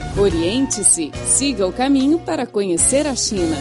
Oriente-se, siga o caminho para conhecer a China.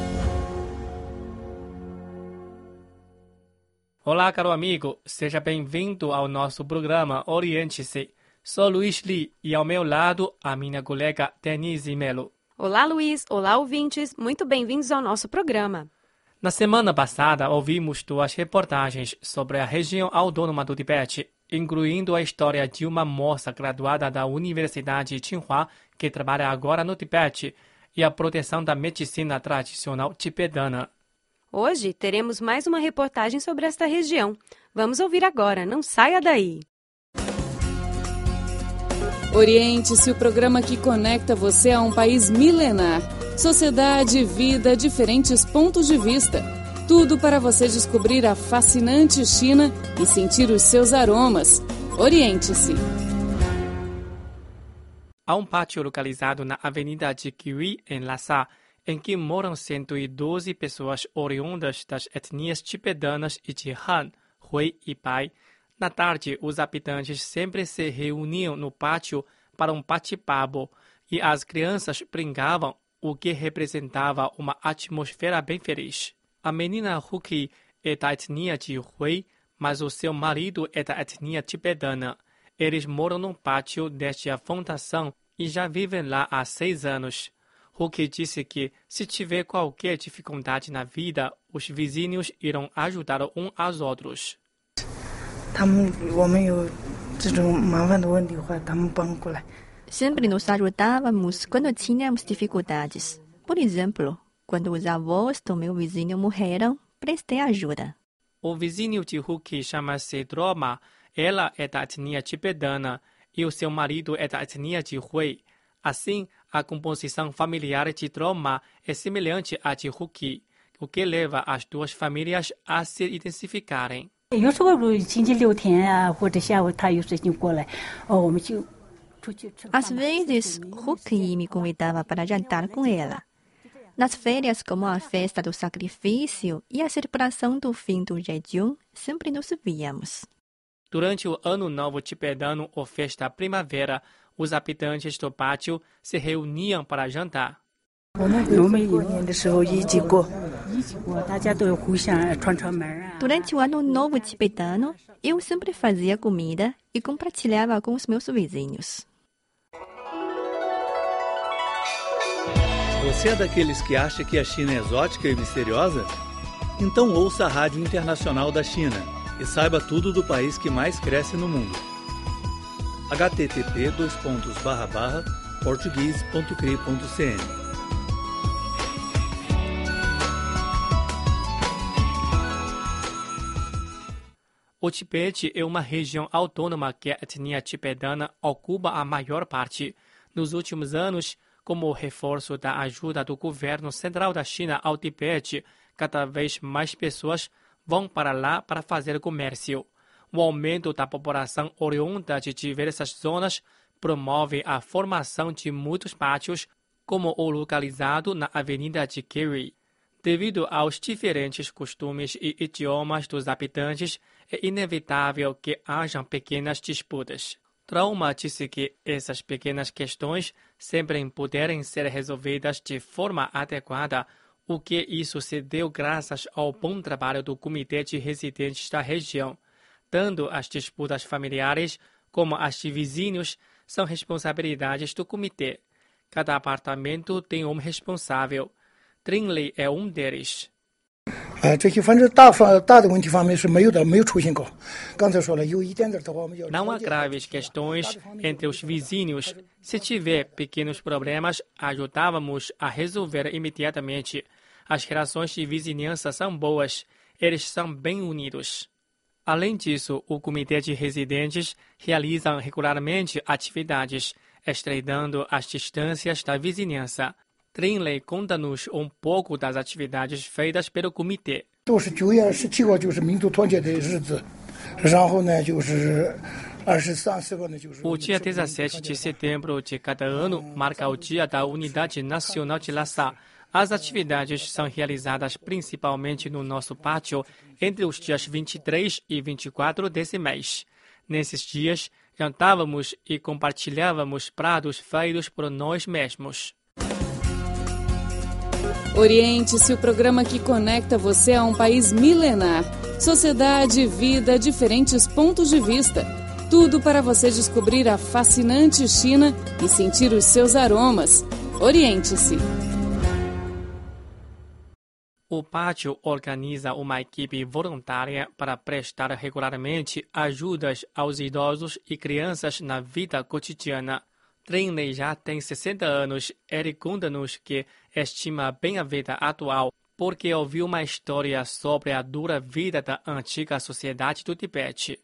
Olá, caro amigo, seja bem-vindo ao nosso programa Oriente-se. Sou Luiz Li e ao meu lado a minha colega Denise Melo. Olá, Luiz. Olá, ouvintes. Muito bem-vindos ao nosso programa. Na semana passada, ouvimos duas reportagens sobre a região autônoma do Tibete, incluindo a história de uma moça graduada da Universidade Tsinghua que trabalha agora no Tibete e a proteção da medicina tradicional tibetana. Hoje teremos mais uma reportagem sobre esta região. Vamos ouvir agora, não saia daí! Oriente-se, o programa que conecta você a um país milenar. Sociedade, vida, diferentes pontos de vista. Tudo para você descobrir a fascinante China e sentir os seus aromas. Oriente-se. Há um pátio localizado na Avenida de Kiwi, em Lhasa, em que moram 112 pessoas oriundas das etnias tibetanas e de Han, Hui e Bai. Na tarde, os habitantes sempre se reuniam no pátio para um bate-papo e as crianças brincavam, o que representava uma atmosfera bem feliz. A menina Huki é da etnia de Hui, mas o seu marido é da etnia tibetana. Eles moram no pátio desde a fundação e já vivem lá há 6 anos. Huki disse que, se tiver qualquer dificuldade na vida, os vizinhos irão ajudar uns aos outros. Sempre nos ajudávamos quando tínhamos dificuldades. Por exemplo, quando os avós do meu vizinho morreram, prestei ajuda. O vizinho de Huki chama-se Droma. Ela é da etnia tibetana e o seu marido é da etnia de Hui. Assim, a composição familiar de Droma é semelhante à de Huki, o que leva as duas famílias a se intensificarem. Às vezes, Huki me convidava para jantar com ela. Nas férias, como a festa do sacrifício e a celebração do fim do jejum, sempre nos víamos. Durante o Ano Novo Tibetano ou Festa Primavera, os habitantes do pátio se reuniam para jantar. Durante o Ano Novo Tibetano, eu sempre fazia comida e compartilhava com os meus vizinhos. Você é daqueles que acha que a China é exótica e misteriosa? Então ouça a Rádio Internacional da China e saiba tudo do país que mais cresce no mundo. http://portugues.cri.cn. O Tibete é uma região autônoma que a etnia tibetana ocupa a maior parte. Nos últimos anos, como reforço da ajuda do governo central da China ao Tibete, cada vez mais pessoas vão para lá para fazer comércio. O aumento da população oriunda de diversas zonas promove a formação de muitos pátios, como o localizado na Avenida de Kiwi. Devido aos diferentes costumes e idiomas dos habitantes, é inevitável que hajam pequenas disputas. Trauma disse que essas pequenas questões sempre puderem ser resolvidas de forma adequada, o que isso se deu graças ao bom trabalho do Comitê de Residentes da região. Tanto as disputas familiares como as de vizinhos são responsabilidades do comitê. Cada apartamento tem um responsável. Trinley é um deles. Não há graves questões entre os vizinhos. Se tiver pequenos problemas, ajudávamos a resolver imediatamente. As relações de vizinhança são boas. Eles são bem unidos. Além disso, o Comitê de Residentes realiza regularmente atividades, estreitando as distâncias da vizinhança. Trinley conta-nos um pouco das atividades feitas pelo comitê. O dia 17 de setembro de cada ano marca o Dia da Unidade Nacional de Lhasa. As atividades são realizadas principalmente no nosso pátio entre os dias 23 e 24 desse mês. Nesses dias, Jantávamos e compartilhávamos pratos feitos por nós mesmos. Oriente-se, o programa que conecta você a um país milenar. Sociedade, vida, diferentes pontos de vista. Tudo para você descobrir a fascinante China e sentir os seus aromas. Oriente-se. O pátio organiza uma equipe voluntária para prestar regularmente ajudas aos idosos e crianças na vida cotidiana. Trinley já tem 60 anos. Ele conta-nos que estima bem a vida atual porque ouviu uma história sobre a dura vida da antiga sociedade do Tibete.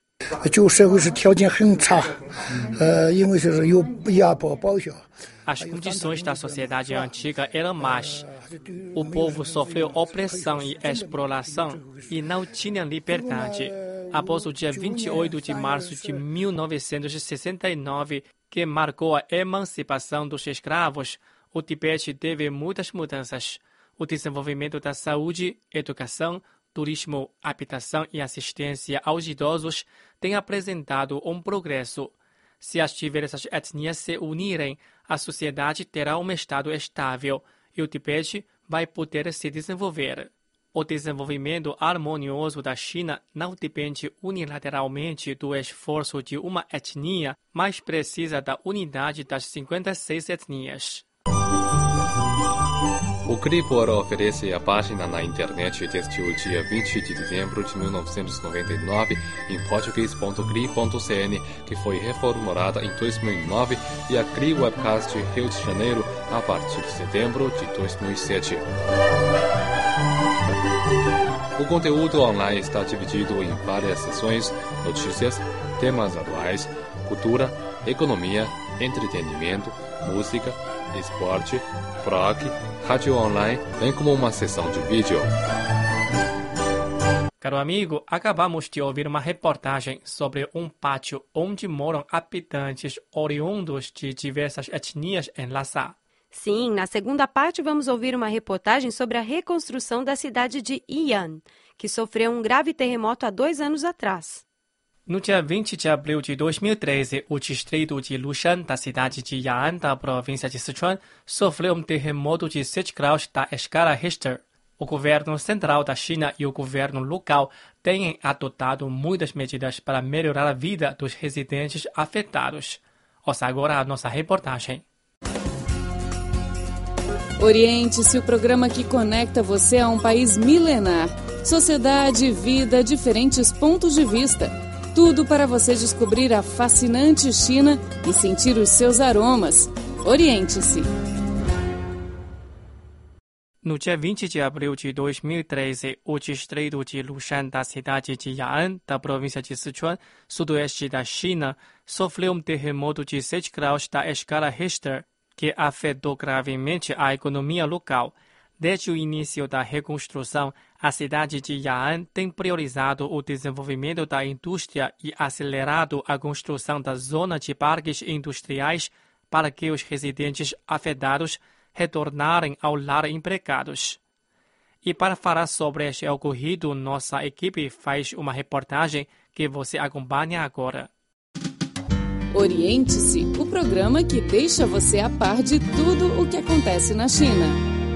As condições da sociedade antiga eram más. O povo sofreu opressão e exploração e não tinha liberdade. Após o dia 28 de março de 1969, que marcou a emancipação dos escravos, o Tibete teve muitas mudanças. O desenvolvimento da saúde, educação, turismo, habitação e assistência aos idosos tem apresentado um progresso. Se as diversas etnias se unirem, a sociedade terá um estado estável e o Tibete vai poder se desenvolver. O desenvolvimento harmonioso da China não depende unilateralmente do esforço de uma etnia, mas precisa da unidade das 56 etnias. O Cripor oferece a página na internet desde o dia 20 de dezembro de 1999 em português.cri.cn, que foi reformulada em 2009, e a Cri Webcast Rio de Janeiro a partir de setembro de 2007. O conteúdo online está dividido em várias seções: notícias, temas atuais, cultura, economia, entretenimento, música, esporte, blog, rádio online, bem como uma seção de vídeo. Caro amigo, acabamos de ouvir uma reportagem sobre um pátio onde moram habitantes oriundos de diversas etnias em Lhasa. Sim, na segunda parte vamos ouvir uma reportagem sobre a reconstrução da cidade de Yi'an, que sofreu um grave terremoto há 2 anos atrás. No dia 20 de abril de 2013, o distrito de Lushan, da cidade de Ya'an, da província de Sichuan, sofreu um terremoto de 7 graus da escala Richter. O governo central da China e o governo local têm adotado muitas medidas para melhorar a vida dos residentes afetados. Ouça agora a nossa reportagem. Oriente-se, o programa que conecta você a um país milenar. Sociedade, vida, diferentes pontos de vista. Tudo para você descobrir a fascinante China e sentir os seus aromas. Oriente-se. No dia 20 de abril de 2013, o distrito de Lushan, da cidade de Ya'an, da província de Sichuan, sudoeste da China, sofreu um terremoto de 7 graus da escala Richter, que afetou gravemente a economia local. Desde o início da reconstrução, a cidade de Ya'an tem priorizado o desenvolvimento da indústria e acelerado a construção da zona de parques industriais para que os residentes afetados retornarem ao lar empregados. E para falar sobre este ocorrido, nossa equipe faz uma reportagem que você acompanha agora. Oriente-se, o programa que deixa você a par de tudo o que acontece na China.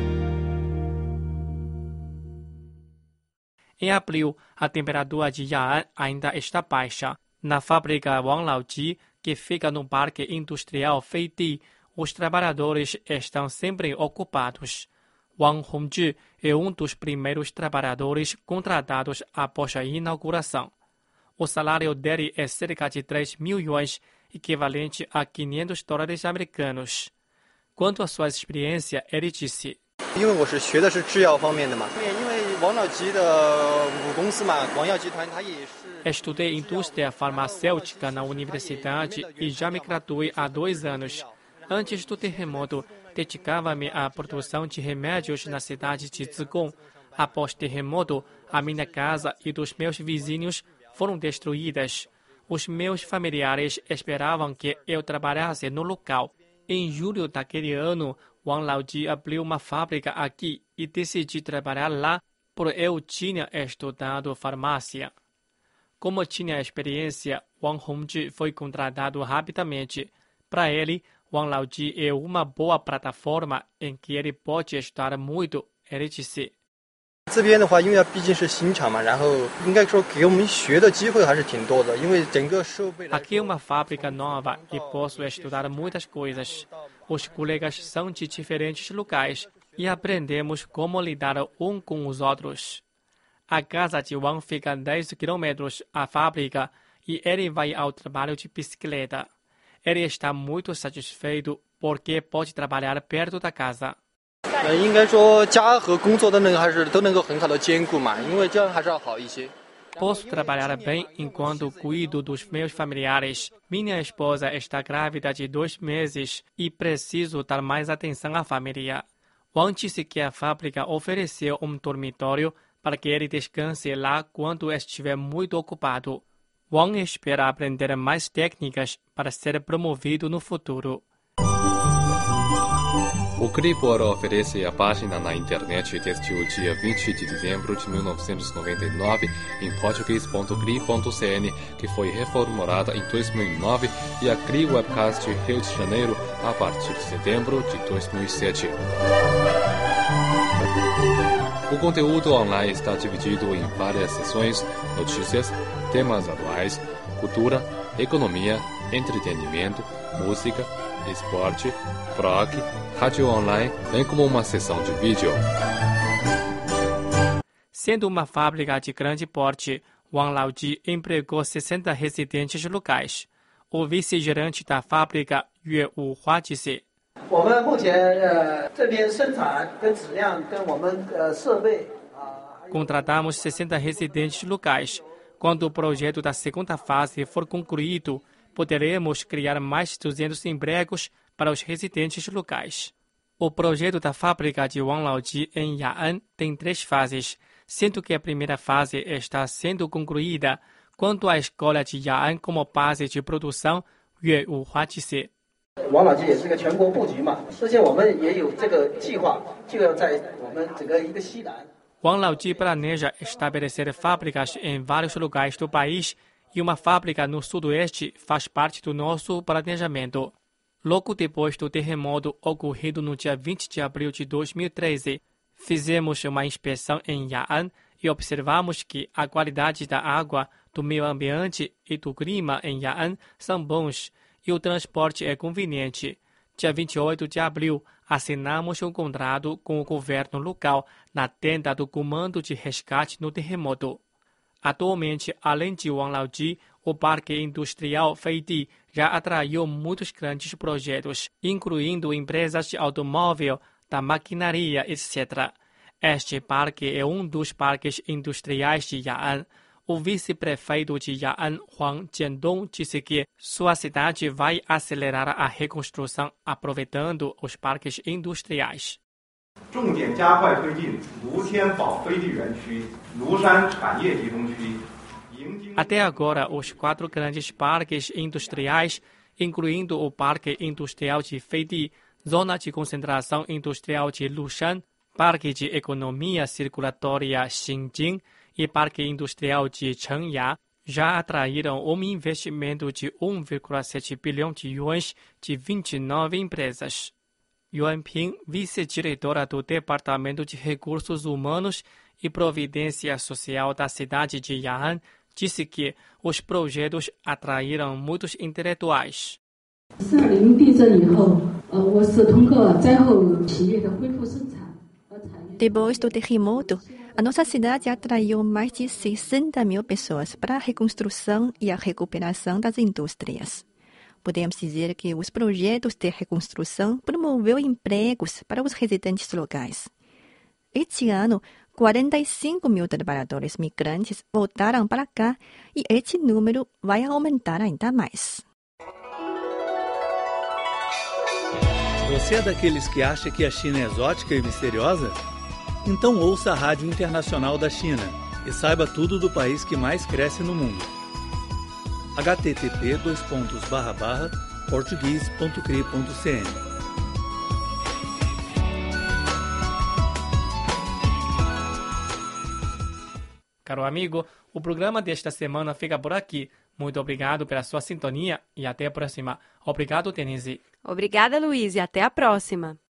Em abril, a temperatura de Ya'an ainda está baixa. Na fábrica Wang Laoji, que fica no parque industrial Feidi, os trabalhadores estão sempre ocupados. Wang Hongzhi é um dos primeiros trabalhadores contratados após a inauguração. O salário dele é cerca de 3 mil yuans, equivalente a $500 americanos. Quanto à sua experiência, ele disse: Estudei indústria farmacêutica na universidade e já me graduei há 2 anos. Antes do terremoto, dedicava-me à produção de remédios na cidade de Zigong. Após o terremoto, a minha casa e dos meus vizinhos foram destruídas. Os meus familiares esperavam que eu trabalhasse no local. Em julho daquele ano, Wang Laoji abriu uma fábrica aqui e decidi trabalhar lá, porque eu tinha estudado farmácia. Como tinha experiência, Wang Hongzhi foi contratado rapidamente. Para ele, Wang Laoji é uma boa plataforma em que ele pode estudar muito, ele disse. Aqui é uma fábrica nova e posso estudar muitas coisas. Os colegas são de diferentes locais e aprendemos como lidar um com os outros. A casa de Wang fica a 10 quilômetros da fábrica e ele vai ao trabalho de bicicleta. Ele está muito satisfeito porque pode trabalhar perto da casa. Posso trabalhar bem enquanto cuido dos meus familiares. Minha esposa está grávida de 2 meses e preciso dar mais atenção à família. Wang disse que a fábrica ofereceu um dormitório para que ele descanse lá quando estiver muito ocupado. Wang espera aprender mais técnicas para ser promovido no futuro. O Cribor oferece a página na internet desde o dia 20 de dezembro de 1999 em português.cri.cn, que foi reformulada em 2009, e a Cri Webcast Rio de Janeiro a partir de setembro de 2007. O conteúdo online está dividido em várias seções: notícias, temas atuais, cultura, economia, entretenimento, música, esporte, blog, rádio online, bem como uma seção de vídeo. Sendo uma fábrica de grande porte, Wang Laoji empregou 60 residentes locais. O vice-gerente da fábrica, Yue Wuhua, disse: Contratamos 60 residentes locais. Quando o projeto da segunda fase for concluído, poderemos criar mais de 200 empregos para os residentes locais. O projeto da fábrica de Wang Laoji em Ya'an tem 3 fases, sendo que a primeira fase está sendo concluída. Quanto à escola de Ya'an como base de produção, Yue Wuhua disse: Wang Laoji planeja estabelecer fábricas em vários lugares do país e uma fábrica no sudoeste faz parte do nosso planejamento. Logo depois do terremoto ocorrido no dia 20 de abril de 2013, fizemos uma inspeção em Ya'an e observamos que a qualidade da água, do meio ambiente e do clima em Ya'an são bons e o transporte é conveniente. Dia 28 de abril, assinamos um contrato com o governo local na tenda do Comando de Resgate no terremoto. Atualmente, além de Wang Laoji, o Parque Industrial Feidi já atraiu muitos grandes projetos, incluindo empresas de automóvel, da maquinaria, etc. Este parque é um dos parques industriais de Ya'an. O vice-prefeito de Ya'an, Huang Jiandong, disse que sua cidade vai acelerar a reconstrução aproveitando os parques industriais. Até agora, os 4 grandes parques industriais, incluindo o Parque Industrial de Feidi, Zona de Concentração Industrial de Lushan, Parque de Economia Circulatória Xinjing e Parque Industrial de Chengya, já atraíram um investimento de 1,7 bilhão de yuans de 29 empresas. Yuan Ping, vice-diretora do Departamento de Recursos Humanos e Providência Social da cidade de Ya'an, disse que os projetos atraíram muitos intelectuais. Depois do terremoto, a nossa cidade atraiu mais de 60 mil pessoas para a reconstrução e a recuperação das indústrias. Podemos dizer que os projetos de reconstrução promoveu empregos para os residentes locais. Este ano, 45 mil trabalhadores migrantes voltaram para cá e este número vai aumentar ainda mais. Você é daqueles que acha que a China é exótica e misteriosa? Então ouça a Rádio Internacional da China e saiba tudo do país que mais cresce no mundo. http://português.cri.cn. Caro amigo, o programa desta semana fica por aqui. Muito obrigado pela sua sintonia e até a próxima. Obrigado, Denise. Obrigada, Luiz, e até a próxima.